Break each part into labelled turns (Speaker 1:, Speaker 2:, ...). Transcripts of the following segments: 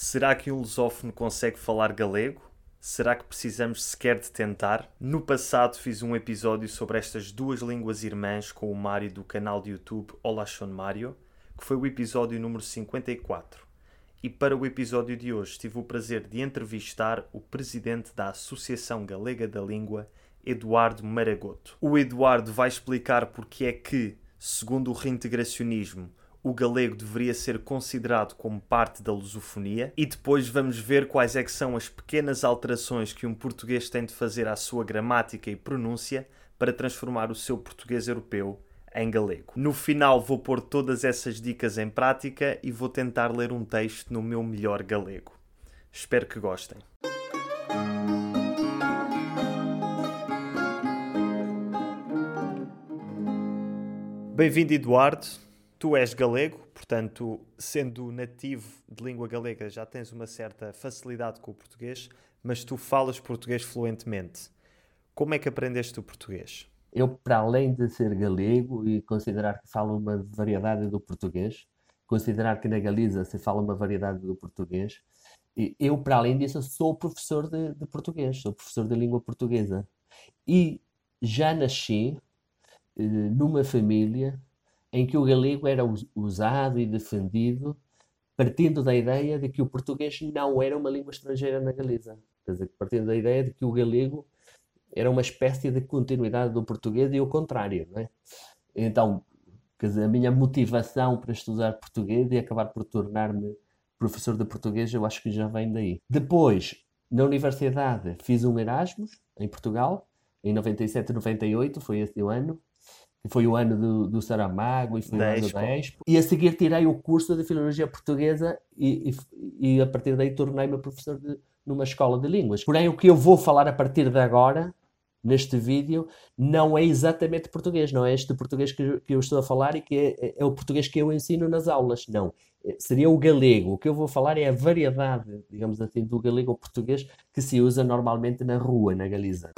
Speaker 1: Será que um lusófono consegue falar galego? Será que precisamos sequer de tentar? No passado fiz um episódio sobre estas duas línguas irmãs com o Mário do canal de YouTube Olá Son Mário, que foi o episódio número 54. E para o episódio de hoje tive o prazer de entrevistar o presidente da Associação Galega da Língua, Eduardo Maragoto. O Eduardo vai explicar porque é que, segundo o reintegracionismo, o galego deveria ser considerado como parte da lusofonia, e depois vamos ver quais é que são as pequenas alterações que um português tem de fazer à sua gramática e pronúncia para transformar o seu português europeu em galego. No final vou pôr todas essas dicas em prática e vou tentar ler um texto no meu melhor galego. Espero que gostem. Bem-vindo, Eduardo. Tu és galego, portanto, sendo nativo de língua galega, já tens uma certa facilidade com o português, mas tu falas português fluentemente. Como é que aprendeste o português?
Speaker 2: Eu, para além de ser galego e considerar que falo uma variedade do português, considerar que na Galiza se fala uma variedade do português, eu, para além disso, sou professor de português, sou professor de língua portuguesa. E já nasci numa família em que o galego era usado e defendido, partindo da ideia de que o português não era uma língua estrangeira na Galiza. Quer dizer, partindo da ideia de que o galego era uma espécie de continuidade do português e o contrário, não é? Então, quer dizer, a minha motivação para estudar português e acabar por tornar-me professor de português, eu acho que já vem daí. Depois, na universidade, fiz um Erasmus em Portugal, em 97 e 98, foi esse o ano, que foi o ano do Saramago e foi o
Speaker 1: Da
Speaker 2: ano da
Speaker 1: Expo.
Speaker 2: Expo. E a seguir tirei o curso de Filologia Portuguesa e a partir daí tornei-me professor numa escola de línguas. Porém, o que eu vou falar a partir de agora, neste vídeo, não é exatamente português, não é este português que eu estou a falar e que é o português que eu ensino nas aulas, não. Seria o galego. O que eu vou falar é a variedade, digamos assim, do galego ao português que se usa normalmente na rua, na Galiza.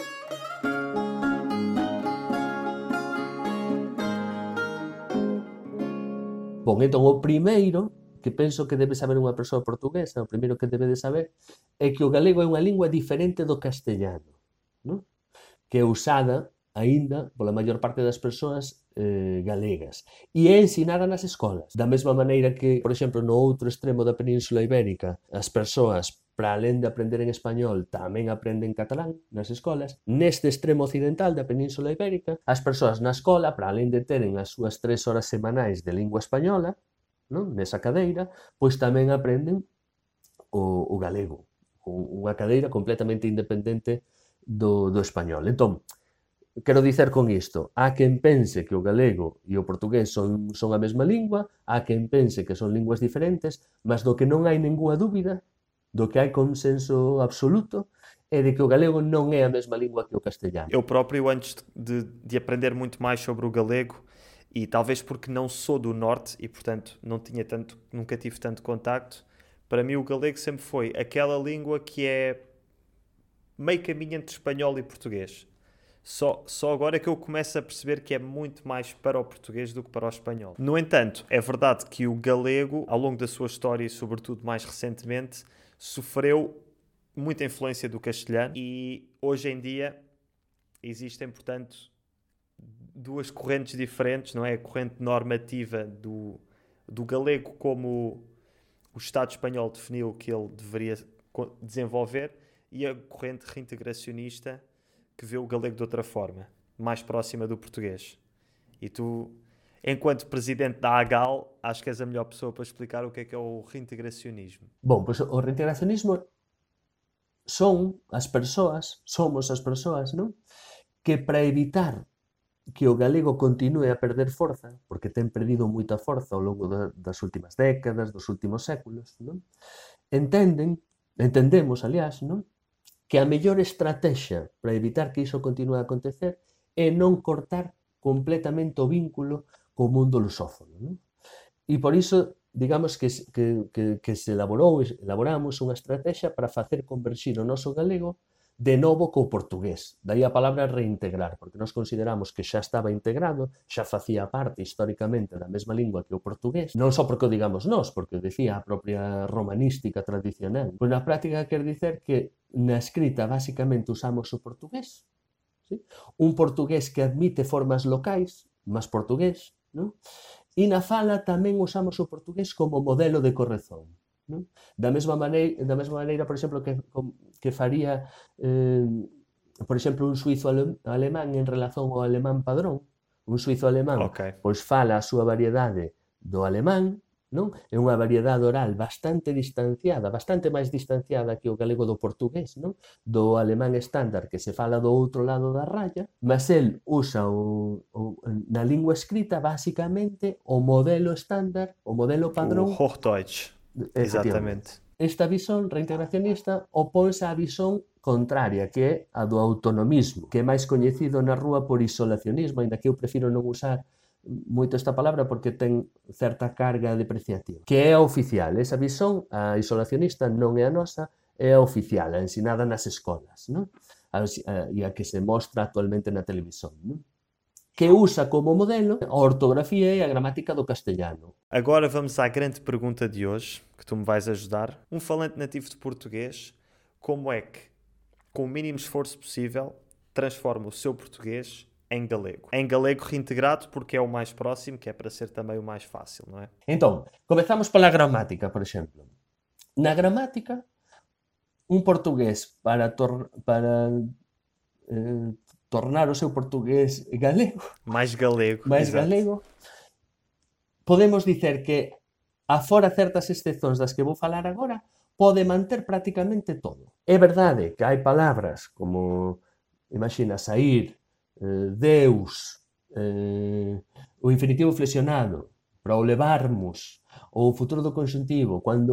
Speaker 2: Bom, então o primeiro que penso que debe saber unha persoa portuguesa, o primeiro que debe de saber, é que o galego é unha lingua diferente do castellano, non? Que é usada aínda pola maior parte das persoas galegas e é ensinada nas escolas. Da mesma maneira que, por exemplo, no outro extremo da Península Ibérica, as persoas, para além de aprender en español, tamén aprenden catalán nas escolas. Neste extremo occidental da Península Ibérica, as persoas na escola, para além de teren as súas 3 horas semanais de lingua española, non? Nesa cadeira, pois tamén aprenden o galego, unha cadeira completamente independente do español. Entón, quero dicer con isto, há quen pense que o galego e o portugués son a mesma lingua, há quen pense que son linguas diferentes, mas do que non hai ninguna dúbida, do que hai consenso absoluto, é de que o galego non é a mesma lingua que o castellano.
Speaker 1: Eu próprio, antes de aprender muito mais sobre o galego, e talvez porque não sou do norte e, portanto, nunca tive tanto contacto, para mim o galego sempre foi aquela língua que é meio caminho entre espanhol e português. Só agora é que eu começo a perceber que é muito mais para o português do que para o espanhol. No entanto, é verdade que o galego, ao longo da sua história e sobretudo mais recentemente, sofreu muita influência do castelhano e hoje em dia existem, portanto, duas correntes diferentes, não é? A corrente normativa do galego, como o Estado espanhol definiu que ele deveria desenvolver, e a corrente reintegracionista que vê o galego de outra forma, mais próxima do português. E tu, enquanto presidente da AGAL, acho que és a melhor pessoa para explicar o que é o reintegracionismo.
Speaker 2: Bom, pois o reintegracionismo somos as persoas, non? Que para evitar que o galego continue a perder forza, porque ten perdido moita forza ao longo das últimas décadas, dos últimos séculos, non? Entendemos, aliás, non? Que a mellor estrategia para evitar que iso continue a acontecer é non cortar completamente o vínculo co mundo lusófono, non? E por iso, digamos que se elaboramos unha estrategia para facer converxir o noso galego de novo co portugués. Daí a palabra reintegrar, porque nós consideramos que xa estaba integrado, xa facía parte históricamente da mesma lingua que o portugués, non só porque o digamos nós, porque o decía a propia romanística tradicional. Pois na práctica quer dicer que na escrita basicamente usamos o portugués, ¿sí? Un portugués que admite formas locais, máis portugués, ¿no? E na fala tamén usamos o portugués como modelo de corrección, ¿no? Da mesma maneira, por exemplo, que faría, por exemplo, un suizo alemán en relación ao alemán padrón. Un suizo alemán pois fala a súa variedade do alemán, non? É unha variedade oral bastante distanciada, bastante máis distanciada que o galego do portugués, non? Do alemán estándar que se fala do outro lado da raya, mas el usa na lingua escrita basicamente o modelo estándar, o modelo padrón.
Speaker 1: O Hochdeutsch. Exatamente.
Speaker 2: Esta visón reintegracionista opónse á visón contraria, que é a do autonomismo, que é máis coñecido na rúa por isolacionismo, aínda que eu prefiro non usar moito esta palabra porque ten certa carga depreciativa, que é a oficial. Esa visón, a isolacionista, non é a nosa, é a oficial, a ensinada nas escolas, non? E a que se mostra actualmente na televisión, non? Que usa como modelo a ortografía e a gramática do castelhano.
Speaker 1: Agora vamos à grande pergunta de hoje, que tu me vais ajudar. Um falante nativo de português, como é que, com o mínimo esforço possível, transforma o seu português em galego? Em galego reintegrado, porque é o mais próximo, que é para ser também o mais fácil, não é?
Speaker 2: Então, comezamos pola gramática, por exemplo. Na gramática, un portugués para tornar o seu portugués galego,
Speaker 1: máis galego,
Speaker 2: podemos dicer que, afora certas excepcións das que vou falar agora, pode manter prácticamente todo. É verdade que hai palabras como, imagina, sair, Deus, o infinitivo flexionado, para o levarmos, ou o futuro do conxuntivo, cando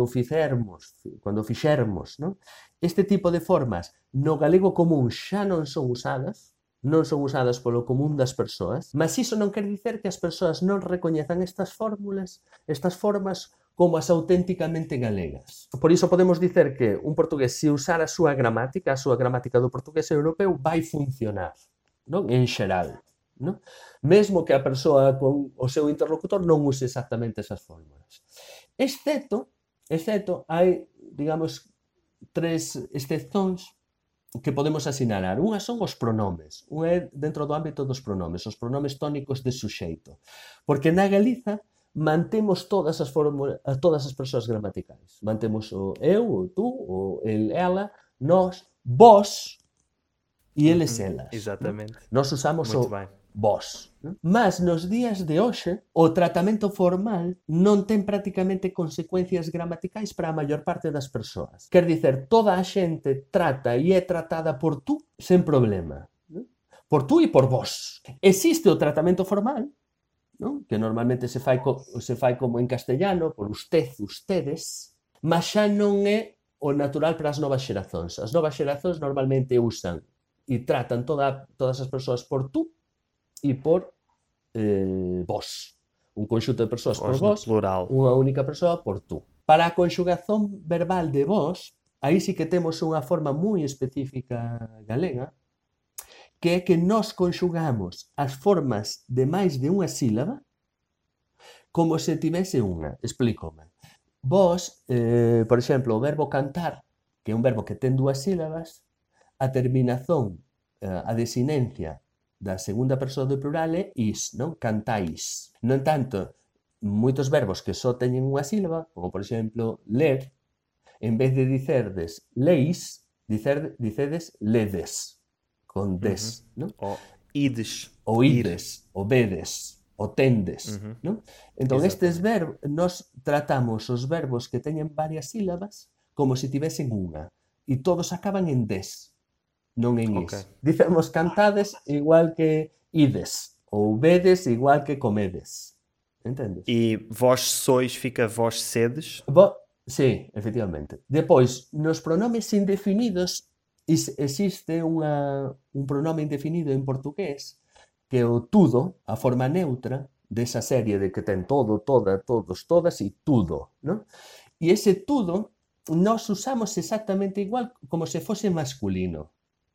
Speaker 2: fixermos, non? Este tipo de formas no galego común xa non son usadas polo común das persoas, mas iso non quer dicer que as persoas non recoñezan estas formas como as auténticamente galegas. Por iso podemos dicer que un portugués, se usar a súa gramática do portugués europeu, vai funcionar, non? En xeral, non? Mesmo que a persoa con o seu interlocutor non use exactamente esas fórmulas. Excepto hai, digamos, 3 excepcións que podemos asinalar. Unha son os pronomes. Unha é dentro do ámbito dos pronomes, os pronomes tónicos de suxeito. Porque na Galiza mantemos todas as persoas gramaticais. Mantemos o eu, o tú, o el, ela, nós, vós e eles, elas.
Speaker 1: Exatamente.
Speaker 2: Nós usamos o vós. Mas nos días de hoxe, o tratamento formal non ten prácticamente consecuencias gramaticais para a maior parte das persoas. Quer dicer, toda a xente trata e é tratada por tú sen problema. Por tú e por vós. Existe o tratamento formal, non? Que normalmente se fai como en castellano, por usted, ustedes, mas xa non é o natural para as novas xerazóns. As novas xerazóns normalmente usan e tratan todas as persoas por tú e por vós. Un conxunto de persoas por vós, unha única persoa por tú. Para a conxugación verbal de vós, aí sí que temos unha forma moi específica galega, que é que nós conxugamos as formas de máis de unha sílaba como se tivese unha. Explícome. Vós, por exemplo, o verbo cantar, que é un verbo que ten 2 sílabas, a terminación, a desinencia da segunda persoa do plural é is, non? Cantais. No entanto, moitos verbos que só teñen unha sílaba, como por exemplo ler, en vez de dicerdes leis, dicedes ledes, con des, non?
Speaker 1: O ides.
Speaker 2: O ides, o vedes, o tendes, non? Entón, estes verbos, nós tratamos os verbos que teñen varias sílabas como se tivesen unha, e todos acaban en des, non en is. Dicemos cantades igual que ides, ou vedes igual que comedes. Entendes?
Speaker 1: E vós sois fica vós sedes?
Speaker 2: Sí, efectivamente. Depois, nos pronomes indefinidos, existe un pronome indefinido en portugués que é o tudo, a forma neutra desa serie de que ten todo, toda, todos, todas e tudo, non? E ese tudo nós usamos exactamente igual como se fose masculino.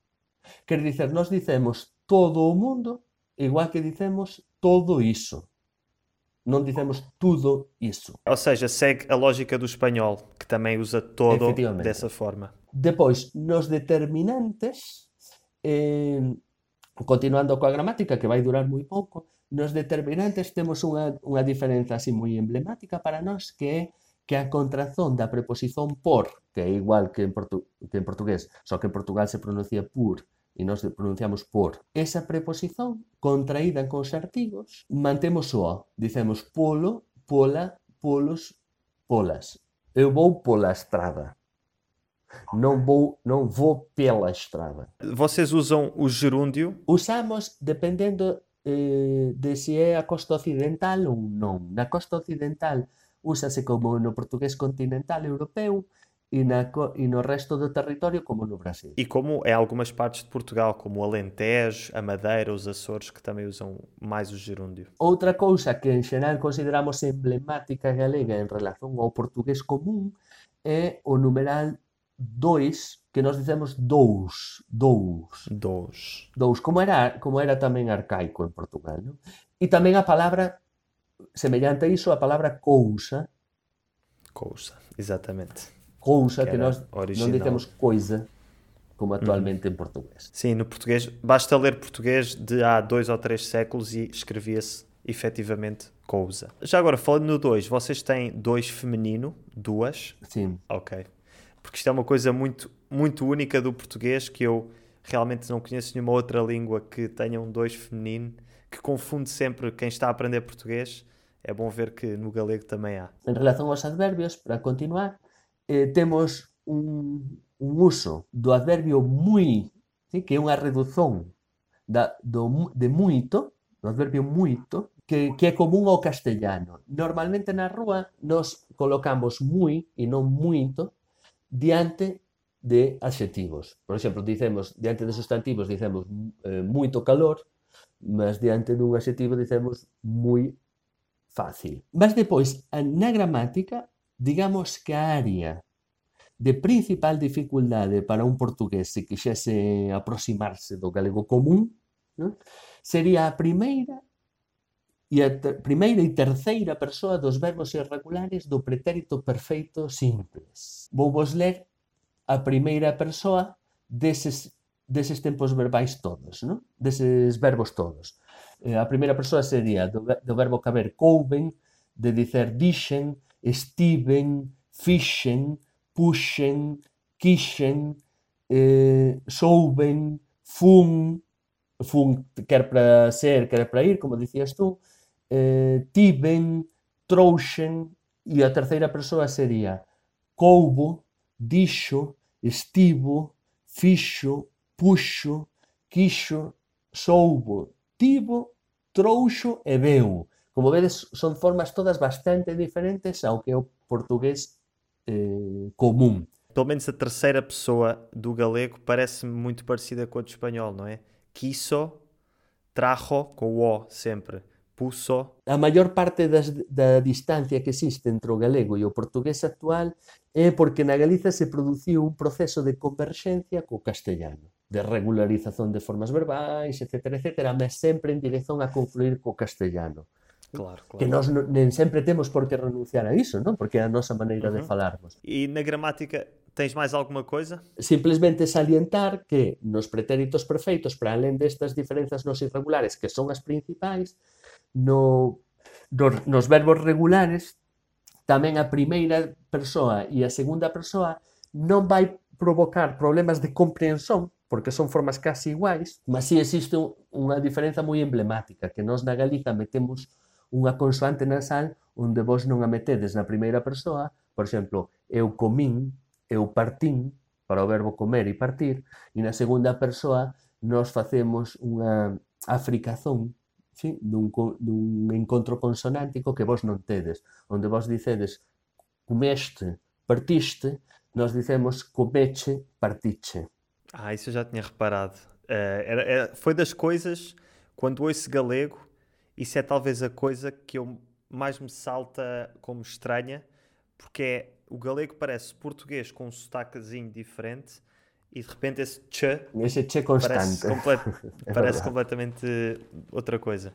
Speaker 2: Quer dizer, nós dicemos todo o mundo, igual que dicemos todo iso. Non dicemos tudo iso.
Speaker 1: Ou seja, segue a lógica do espanhol, que também usa todo
Speaker 2: Efectivamente.
Speaker 1: dessa forma.
Speaker 2: Depois, nos determinantes, eh, continuando coa gramática, que vai durar moi pouco, nos determinantes temos unha diferenza así moi emblemática para nós, que é que a contrazón da preposición por, que é igual que en portugués, só que en Portugal se pronuncia por, e nós pronunciamos por. Esa preposición, contraída cos artigos, mantemos o O. Dicemos polo, pola, polos, polas. Eu vou pola estrada. Non vou pela estrada.
Speaker 1: Vocês usam o gerúndio?
Speaker 2: Usamos dependendo de se é a costa occidental ou non. Na costa occidental úsase como no portugués continental europeu e no resto do territorio como no Brasil.
Speaker 1: E como em algumas partes de Portugal, como o Alentejo, a Madeira, os Açores, que também usam mais o gerúndio.
Speaker 2: Outra cousa que en xeral consideramos emblemática galega en relación ao portugués común é o numeral 2, que nós dicemos dous.
Speaker 1: Dos.
Speaker 2: Como era tamén arcaico en Portugal, non? E tamén a palabra, semellante a iso, a palabra cousa,
Speaker 1: exatamente.
Speaker 2: cousa
Speaker 1: Que
Speaker 2: que
Speaker 1: era
Speaker 2: nós non
Speaker 1: original.
Speaker 2: dicemos coisa, como actualmente em português.
Speaker 1: Sim, no português, basta ler português de há 2 ou 3 séculos e escrevia-se efetivamente cousa. Já agora, falando no 2, vocês têm 2 feminino, duas?
Speaker 2: Sim.
Speaker 1: Ok. Porque isto é uma coisa muito, muito única do português, que eu realmente não conheço nenhuma outra língua que tenha um 2 feminino, que confunde sempre quem está a aprender português. É bom ver que no galego também há.
Speaker 2: En relación aos adverbios, para continuar, temos un uso do adverbio moi, ¿sí? Que é unha redución de muito, do adverbio muito, que é común ao castellano. Normalmente na rúa nos colocamos moi e non muito diante de adxetivos. Por exemplo, dicemos, diante de sustantivos dicemos moito calor, mas diante dun adxetivo dicemos moi fácil. Mas depois, na gramática, digamos que a área de principal dificultade para un portugués se quixese aproximarse do galego común, non? Sería a primeira e terceira persoa dos verbos irregulares do pretérito perfeito simples. Vou vos ler a primeira persoa deses tempos verbais todos, non? Deses verbos todos. A primeira persoa sería do verbo caber couben, de dicer dixen, estiven, fixen, puxen, quixen, souben, fun quer para ser, quer para ir, como dicías tú, tiven, trouxen, e a terceira persoa sería coubo, dixo, estivo, fixo, puxo, quixo, soubo, tivo, trouxo e veu. Como vedes, son formas todas bastante diferentes ao que é o portugués común.
Speaker 1: Pelo menos a terceira pessoa do galego parece-me muito parecida com a do espanhol, não é? Quiso, trajo, com o O sempre. Puso.
Speaker 2: A maior parte da distancia que existe entre o galego e o portugués actual é porque na Galiza se produciu un proceso de converxencia co castellano, de regularización de formas verbais, etc., mas sempre en dirección a confluir co castellano.
Speaker 1: Claro.
Speaker 2: Que nós nem sempre temos por que renunciar a iso, non? Porque é a nosa maneira de falarmos.
Speaker 1: E na gramática tens mais alguma coisa?
Speaker 2: Simplesmente salientar que nos pretéritos perfeitos, para além destas diferenzas nos irregulares, que son as principais, nos verbos regulares tamén a primeira persoa e a segunda persoa non vai provocar problemas de comprensión, porque son formas casi iguais, mas si existe unha diferenza moi emblemática, que nós na Galiza metemos unha consoante nasal onde vos non a metedes na primeira persoa, por exemplo, eu comín, eu partín, para o verbo comer e partir, e na segunda persoa nós facemos unha africazón, sí, dun encontro consonántico que vos non tedes, onde vos dicedes comeste, partiste, nós dicemos comeche, partiche.
Speaker 1: Isso eu já tinha reparado. Foi das coisas, quando ouço galego, isso é talvez a coisa que mais me salta como estranha, porque o galego parece português com um sotaquezinho diferente e de repente esse ch
Speaker 2: Ese che
Speaker 1: parece,
Speaker 2: constante. É
Speaker 1: parece
Speaker 2: verdade.
Speaker 1: completamente outra coisa.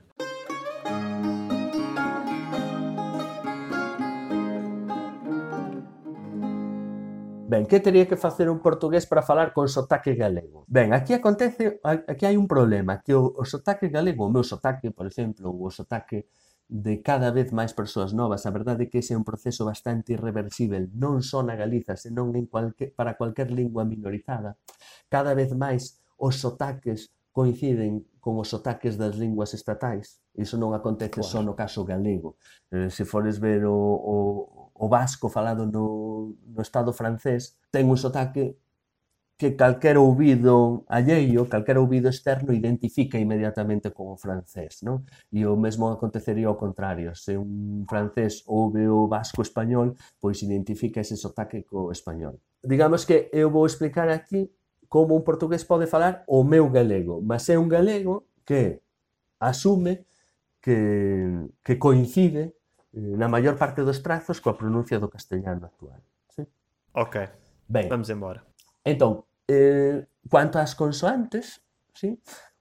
Speaker 2: Ben, que teria que facer un portugués para falar con sotaque galego? Ben, aquí hai un problema, que o sotaque galego, o meu sotaque, por exemplo, ou o sotaque de cada vez máis persoas novas, a verdade é que ese é un proceso bastante irreversible, non só na Galiza, senón para cualquier lingua minorizada. Cada vez máis os sotaques coinciden con os sotaques das linguas estatais. Iso non acontece só
Speaker 1: Claro.
Speaker 2: no caso galego. Se fores ver o vasco falado no Estado francés, ten un sotaque que calquera ouvido alleio, calquera ouvido externo identifica inmediatamente con o francés, non? E o mesmo acontecería ao contrario. Se un francés ouve o vasco español, pois identifica ese sotaque co español. Digamos que eu vou explicar aquí como un portugués pode falar o meu galego, mas é un galego que asume que coincide na maior parte dos trazos coa pronuncia do castellano actual. Sí?
Speaker 1: Ok,
Speaker 2: Ben,
Speaker 1: vamos embora.
Speaker 2: entón, cuanto ás consoantes, sí?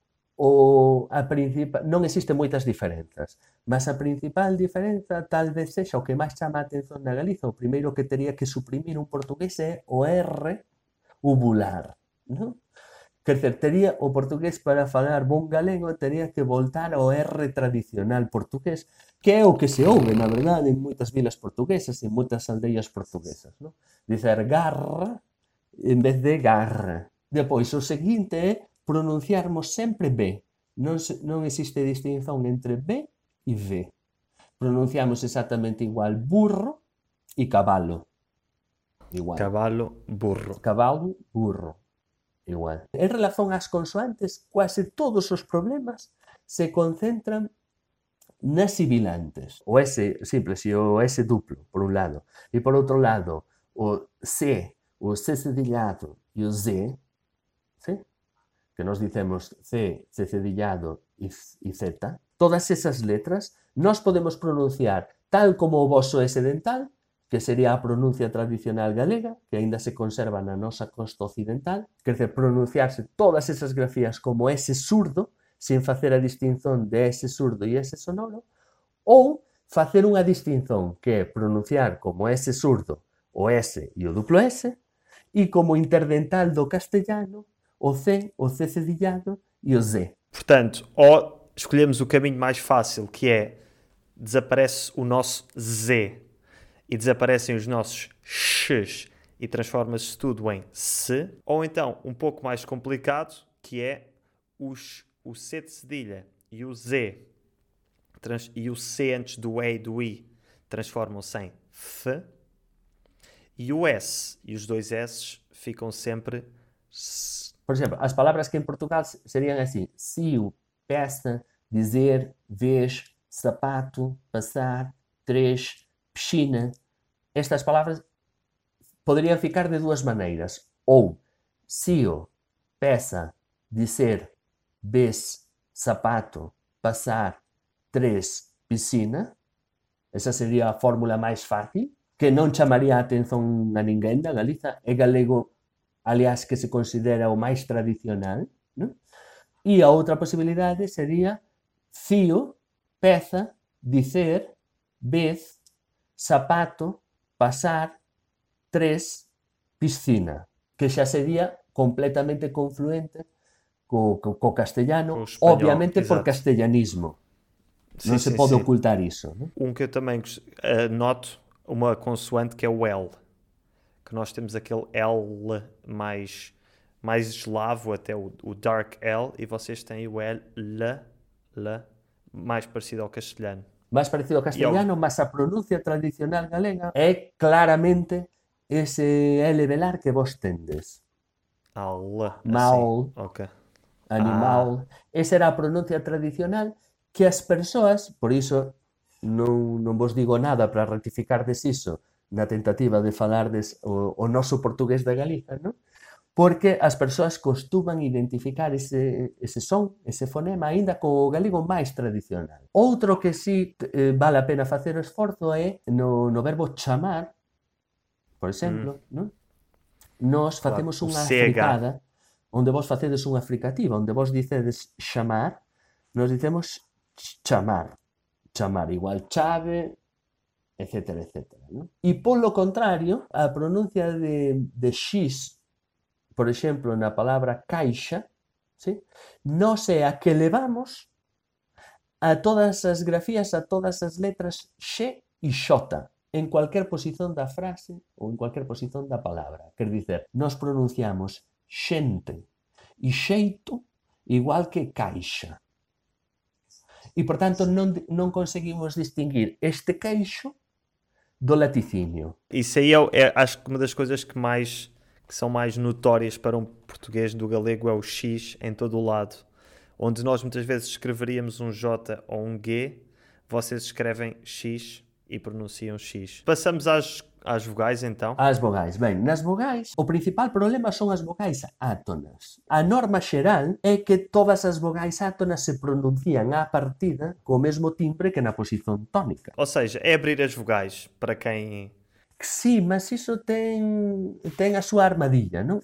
Speaker 2: Non existen moitas diferenzas, mas a principal diferenza tal vez sexa o que máis chama a atención na Galiza. O primeiro que tería que suprimir un portugués é o R uvular, non? Quer dizer, o portugués para falar bon galego tería que voltar ao R tradicional portugués, que é o que se ouve, na verdade, en moitas vilas portuguesas, en moitas aldeias portuguesas, non? Dicer garra en vez de garra. Depois, o seguinte é pronunciarmos sempre B. Non existe distinción entre B e V. Pronunciamos exactamente igual burro e cabalo. Igual.
Speaker 1: Cavalo, burro.
Speaker 2: Cabalo, burro. Igual. En relación ás consoantes, quase todos os problemas se concentran nas sibilantes. O S simple e o S duplo, por un lado. E por outro lado, o C cedillado e o Z, ¿sí? Que nos dicemos C cedillado e Z. Todas esas letras nós podemos pronunciar tal como o voso S dental, que sería a pronuncia tradicional galega, que aínda se conserva na nosa costa occidental, quer dizer, pronunciarse todas esas grafías como S surdo, sin facer a distinción de S surdo e S sonoro, ou facer unha distinción que é pronunciar como S surdo o S e o duplo S, e como interdental do castellano o C cedillado e o Z.
Speaker 1: Portanto, ou escolhemos o caminho mais fácil, que é desaparece o nosso Z e desaparecem os nossos X e transforma-se tudo em S, ou então um pouco mais complicado, que é o C de cedilha e o Z e o C antes do E e do I transformam-se em F, e o S e os dois S ficam sempre S.
Speaker 2: Por exemplo, as palavras que em Portugal seriam assim: cio, peça, dizer, vez, sapato, passar, três, piscina. Estas palavras poderiam ficar de duas maneiras. Ou cio, peça, dizer, vez, sapato, passar, três, piscina. Esa sería a fórmula máis fácil, que non chamaría a atención a ninguén da Galiza. É galego, aliás, que se considera o máis tradicional, non? E a outra posibilidade sería fío, peza, dicer, vez, sapato, pasar, tres, piscina, que xa sería completamente confluente co castellano,
Speaker 1: espanhol,
Speaker 2: obviamente por
Speaker 1: exato.
Speaker 2: castellanismo. Non se
Speaker 1: Sim,
Speaker 2: pode
Speaker 1: sim.
Speaker 2: ocultar iso, non?
Speaker 1: Que eu também noto, uma consoante que é o L, que nós temos aquele L mais eslavo, até o dark L, e vocês têm o L, mais parecido ao castelhano.
Speaker 2: Mais parecido ao castelano, mas a pronuncia tradicional galega é claramente ese L velar que vos tendes.
Speaker 1: Mal,
Speaker 2: Mal,
Speaker 1: assim. Ok.
Speaker 2: animal. Esa era a pronuncia tradicional que as persoas, por iso non vos digo nada para rectificardes iso na tentativa de falardes o noso portugués da Galiza, non? Porque as persoas costuman identificar ese son, ese fonema, aínda co galego máis tradicional. Outro que sí vale a pena facer o esforzo é no verbo chamar, por exemplo, non? nós
Speaker 1: Claro.
Speaker 2: facemos
Speaker 1: O
Speaker 2: unha
Speaker 1: CH.
Speaker 2: africada, onde vos facedes unha fricativa, onde vos dicedes chamar, nós dicemos chamar, chamar igual chave, etcétera, etcétera, ¿no? E polo contrario, a pronuncia de X, por exemplo, na palabra caixa, ¿sí? Nós é a que levamos a todas as grafías, a todas as letras X e X en cualquier posición da frase ou en cualquier posición da palabra. Quer dizer, nós pronunciamos xente e xeito igual que caixa. E, por tanto, non conseguimos distinguir este queixo do laticínio.
Speaker 1: Isso aí acho que uma das coisas que são mais notórias para um português do galego é o X em todo o lado. Onde nós muitas vezes escreveríamos um J ou um G, vocês escrevem X e pronunciam X. Passamos às vogais então.
Speaker 2: As vogais. Ben, nas vogais, o principal problema son as vogais átonas. A norma xeral é que todas as vogais átonas se pronuncian á partida co mesmo timbre que na posición tónica.
Speaker 1: Ou seja, é abrir as vogais para quem...
Speaker 2: Sí, mas iso ten a súa armadilla, non?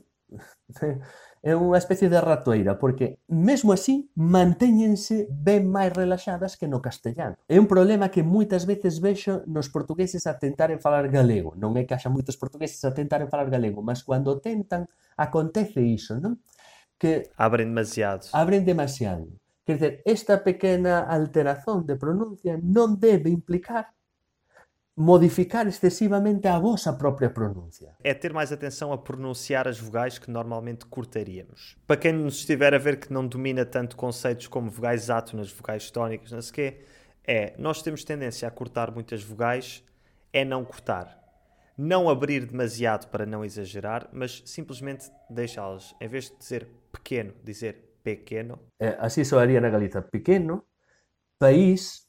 Speaker 2: É unha especie de ratoeira, porque mesmo así mantéñense ben máis relaxadas que no castellano. É un problema que moitas veces vexo nos portugueses a tentaren falar galego. Non é que haxa moitos portugueses a tentaren falar galego, mas cando tentan, acontece iso, non? Que
Speaker 1: Abrem demasiado.
Speaker 2: abren demasiado. Quer dizer, esta pequena alteración de pronuncia non debe implicar modificar excesivamente a vosa própria pronuncia.
Speaker 1: É ter mais atenção a pronunciar as vogais que normalmente cortaríamos. Para quem nos estiver a ver que não domina tanto conceitos como vogais átonas, vogais tónicas, não sei o quê, nós temos tendência a cortar muitas vogais, é não cortar. Não abrir demasiado para não exagerar, mas simplesmente deixá-las. Em vez de dizer pequeno, dizer pequeno.
Speaker 2: Así soaría na Galiza. Pequeno, país,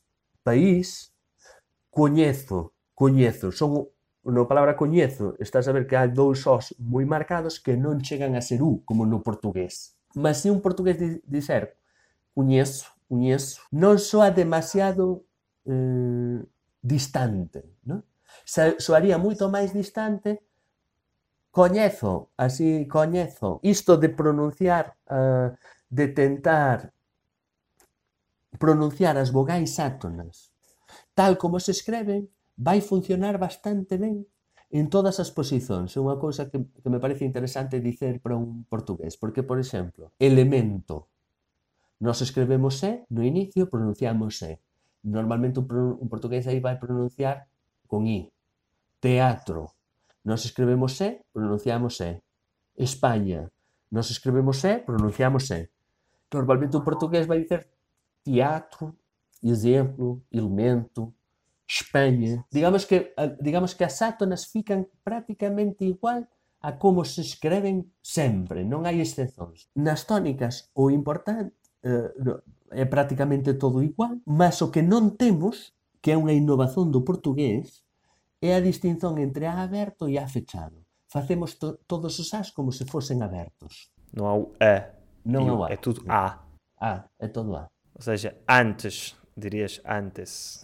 Speaker 2: coñezo. Son, na palabra coñezo, estás a ver que hai dous os moi marcados que non chegan a ser U, como no portugués. Mas se un portugués dizer coñezo, non soa demasiado distante, non? Soaría moito máis distante coñezo, así coñezo. Isto de pronunciar, de tentar pronunciar as vogais átonas tal como se escreven, vai funcionar bastante ben en todas as posicións. É unha cousa que me parece interesante dicer para un portugués, porque, por exemplo, elemento. Nós escrevemos E no inicio, pronunciamos E. Normalmente un portugués aí vai pronunciar con I. Teatro. Nós escrevemos E, pronunciamos E. España. Nós escrevemos E, pronunciamos E. Normalmente un portugués vai dicer teatro, exemplo, elemento, Espanha. Digamos que as átonas fican prácticamente igual a como se escreven sempre, non hai excepcións. Nas tónicas o importante é prácticamente todo igual, mas o que non temos, que é unha innovación do portugués, é a distinción entre A aberto e A fechado. Facemos todos os As como se fosen abertos.
Speaker 1: Não há o A.
Speaker 2: Non é o A.
Speaker 1: É tudo A.
Speaker 2: A, é todo A.
Speaker 1: Ou seja, antes. Dirias antes.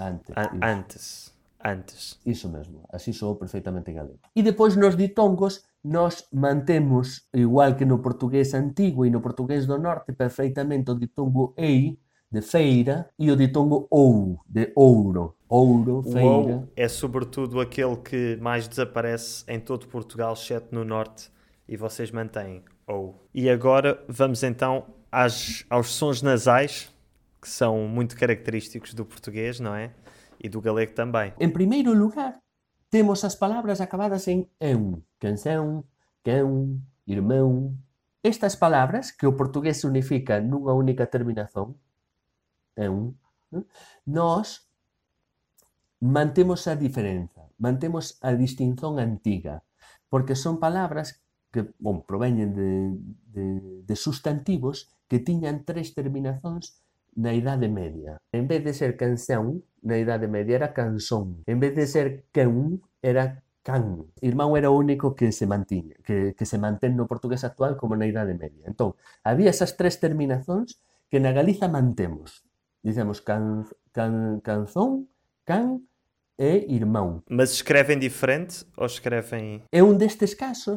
Speaker 1: Antes.
Speaker 2: Iso mesmo, así soou perfectamente galego. E depois nos ditongos nós mantemos, igual que no portugués antigo e no portugués do norte, perfectamente o ditongo ei, de feira, e o ditongo ou, de ouro. Ouro, feira.
Speaker 1: O ou é sobretudo aquele que mais desaparece em todo Portugal, exceto no norte, e vocês mantêm ou. E agora vamos então aos sons nasais, que são muito característicos do português, não é? E do galego também.
Speaker 2: En primeiro lugar, temos as palabras acabadas en eun. Canção, cão, irmão. Estas palabras, que o portugués unifica nunha única terminación, eun, nós mantemos a diferenza, mantemos a distinción antiga, porque son palabras que proveñen de sustantivos que tiñan tres terminacións na Idade Media. En vez de ser canción, na Idade Media era canzón. En vez de ser cão, era can. Irmão era o único que se mantiña, que se mantén no portugués actual como na Idade Media. Entón, había esas tres terminacións que na Galiza mantemos. Dicemos canzón, can e irmão.
Speaker 1: Mas escrevem diferente ou escrevem...
Speaker 2: É un destes casos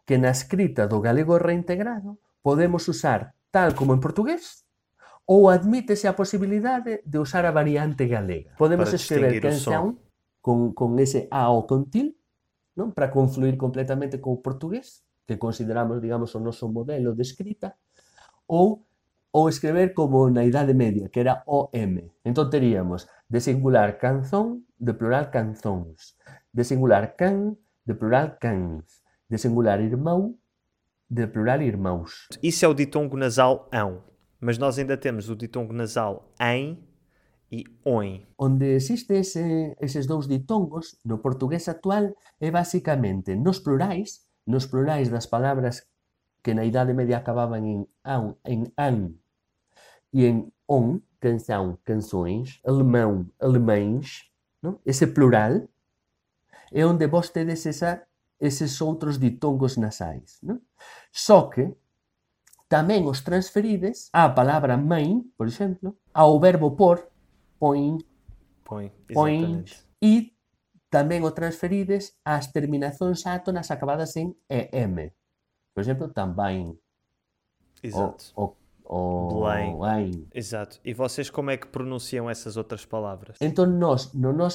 Speaker 2: que na escrita do galego reintegrado podemos usar tal como en portugués ou admítese a posibilidade de usar a variante galega. Podemos
Speaker 1: Para
Speaker 2: escrever
Speaker 1: distinguir o som.
Speaker 2: canção con ese A ou con til, non? Para confluir completamente co portugués, que consideramos, digamos, o noso modelo de escrita, ou escrever como na Idade Media, que era OM. Entón teríamos de singular canzón, de plural canzóns, de singular can, de plural cans, de singular irmão, de plural irmãos.
Speaker 1: Isso é o ditongo nasal ão, mas nós ainda temos o ditongo nasal em e oin.
Speaker 2: Onde existe eses dous ditongos no portugués actual é basicamente nos plurais das palabras que na Idade Media acababan en an e en on, canção, canções, alemão, alemães, non? Ese plural é onde vos tedes eses outros ditongos nasais, non? Só que tamén os transferides á palabra mãe, por exemplo, ao verbo por, põe,
Speaker 1: Põe,
Speaker 2: pões,
Speaker 1: exatamente.
Speaker 2: e tamén o transferides ás terminacións átonas acabadas en em. Por exemplo, também,
Speaker 1: Exato. Belém.
Speaker 2: Belém.
Speaker 1: Exato. E vocês como é que pronunciam essas outras palavras?
Speaker 2: Entón, nós,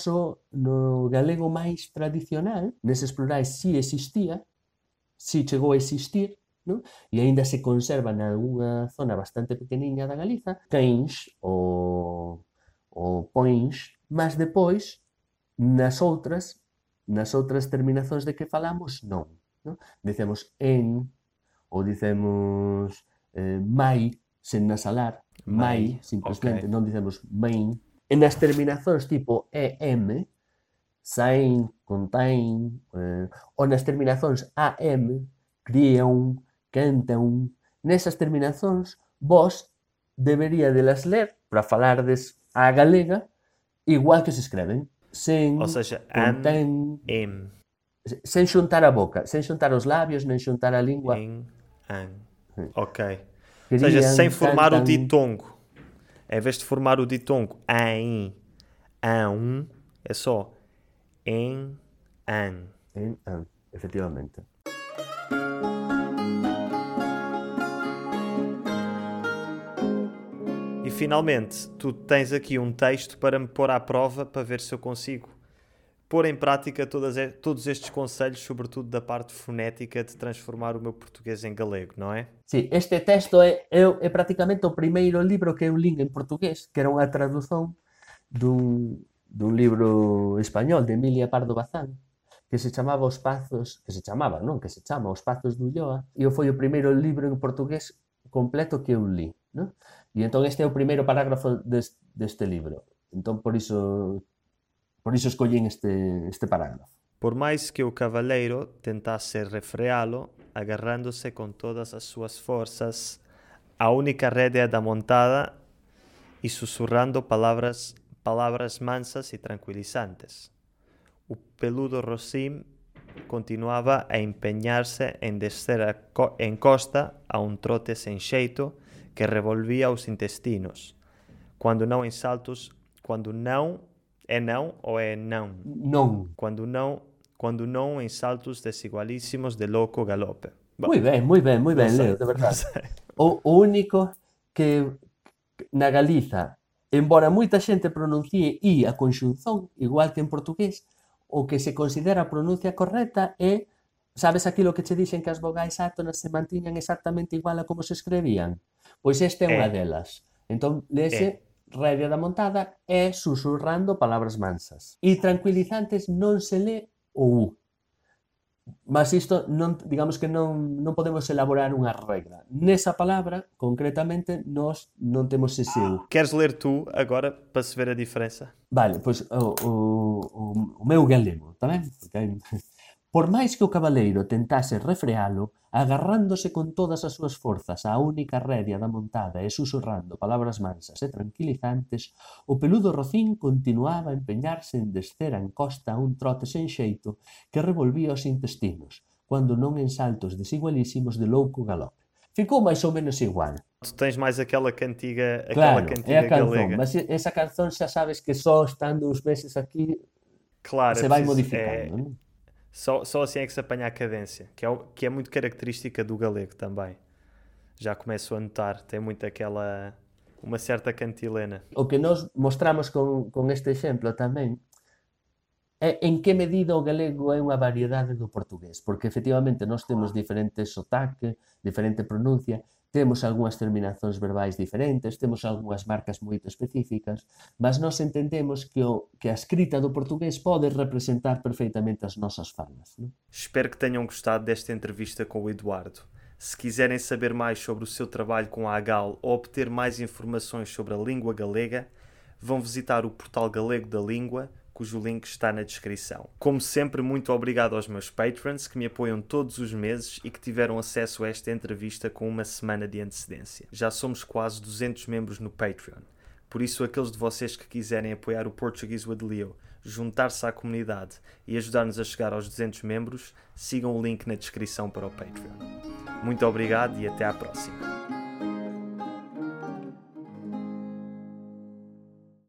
Speaker 2: no galego máis tradicional, neses plurais si existía, si chegou a existir, non? E aínda se conserva nalgúna zona bastante pequeniña da Galiza, cães ou pões, mas depois, nas outras terminacións de que falamos, non. Dicemos en, ou dicemos mai, sen nasalar, mai, simplesmente, non dicemos main. E nas terminacións tipo em, sain, contain, ou nas terminacións am, crían, cantan, nesas terminacións vos deberíades ler para falardes a galega igual que se escreven. Sen,
Speaker 1: Ou seja,
Speaker 2: contén,
Speaker 1: em,
Speaker 2: sen xuntar a boca, sen xuntar os labios, nem xuntar a lingua.
Speaker 1: em, an. Ok. Ou
Speaker 2: Querían,
Speaker 1: seja, sem formar o
Speaker 2: cantan,
Speaker 1: ditongo. Em vez de formar o ditongo em, an, é só em, an.
Speaker 2: en, an, efectivamente.
Speaker 1: E finalmente, tu tens aqui um texto para me pôr à prova para ver se eu consigo pôr em prática todos estes conselhos, sobretudo da parte fonética de transformar o meu português em galego, não é?
Speaker 2: Sí, este texto é prácticamente o primeiro libro que eu lin en portugués, que era unha tradución dun libro español de Emilia Pardo Bazán, que se chama Os Pazos de Ulloa, e foi o primeiro libro en portugués completo que eu li, non? E entón este é o primeiro parágrafo deste libro. Entón por iso escollín este parágrafo.
Speaker 1: Por mais que o cavaleiro tentasse refreá-lo, agarrando-se com todas as suas forças à única rédea da montada e sussurrando palavras mansas e tranquilizantes, o peludo Rosim continuava a empenhar-se em descer a encosta a um trote sem jeito que revolvia os intestinos, quando não em saltos, quando não é não ou é não?
Speaker 2: Non.
Speaker 1: Quando não em saltos desigualíssimos de louco galope. Bom,
Speaker 2: Moi ben,
Speaker 1: sei,
Speaker 2: Leo, de
Speaker 1: não
Speaker 2: verdade.
Speaker 1: sei.
Speaker 2: O único que na Galiza, embora moita xente pronuncie I a conxunción, igual que en portugués, o que se considera a pronuncia correcta é, sabes aquilo que che dixen que as vogais átonas se mantiñan exactamente igual a como se escrevían? Pois esta é unha delas. Entón, lese rédea da montada e susurrando palabras mansas. E tranquilizantes non se lé o U. Mas isto, non, digamos que non podemos elaborar unha regra. Nesa palabra, concretamente, nós non temos ese U.
Speaker 1: Queres ler tu agora para se ver a diferença?
Speaker 2: Vale, pois o meu galego, está ben? Okay. Por máis que o cabaleiro tentase refrealo, agarrándose con todas as súas forzas á única rédea da montada e susurrando palabras mansas e tranquilizantes, o peludo Rocín continuaba a empeñarse en descer a encosta a un trote sen xeito que revolvía os intestinos, cando non en saltos desigualísimos de louco galope. Ficou máis ou menos igual.
Speaker 1: Tu tens mais aquela cantiga
Speaker 2: Claro, é a canzón,
Speaker 1: galega.
Speaker 2: mas esa canzón xa sabes que só estando uns meses aquí
Speaker 1: Claro,
Speaker 2: se vai modificando, non?
Speaker 1: Só assim é que se apanha a cadência, que é muito característica do galego também. Já começo a notar, tem muito uma certa cantilena.
Speaker 2: O que nós mostramos con este exemplo tamén é en que medida o galego é unha variedade do portugués, porque efectivamente nós temos diferentes sotaque, diferente pronuncia, temos algunhas terminacións verbais diferentes, temos algunhas marcas moito específicas, mas nós entendemos que a escrita do portugués pode representar perfeitamente as nosas falas. Non?
Speaker 1: Espero que tenham gostado desta entrevista com o Eduardo. Se quiserem saber mais sobre o seu trabalho com a AGAL ou obter mais informações sobre a língua galega, vão visitar o portal Galego da Língua, cujo link está na descrição. Como sempre, muito obrigado aos meus patrons que me apoiam todos os meses e que tiveram acesso a esta entrevista com uma semana de antecedência. Já somos quase 200 membros no Patreon. Por isso, aqueles de vocês que quiserem apoiar o Portuguese with Leo, juntar-se à comunidade e ajudar-nos a chegar aos 200 membros, sigam o link na descrição para o Patreon. Muito obrigado e até à próxima.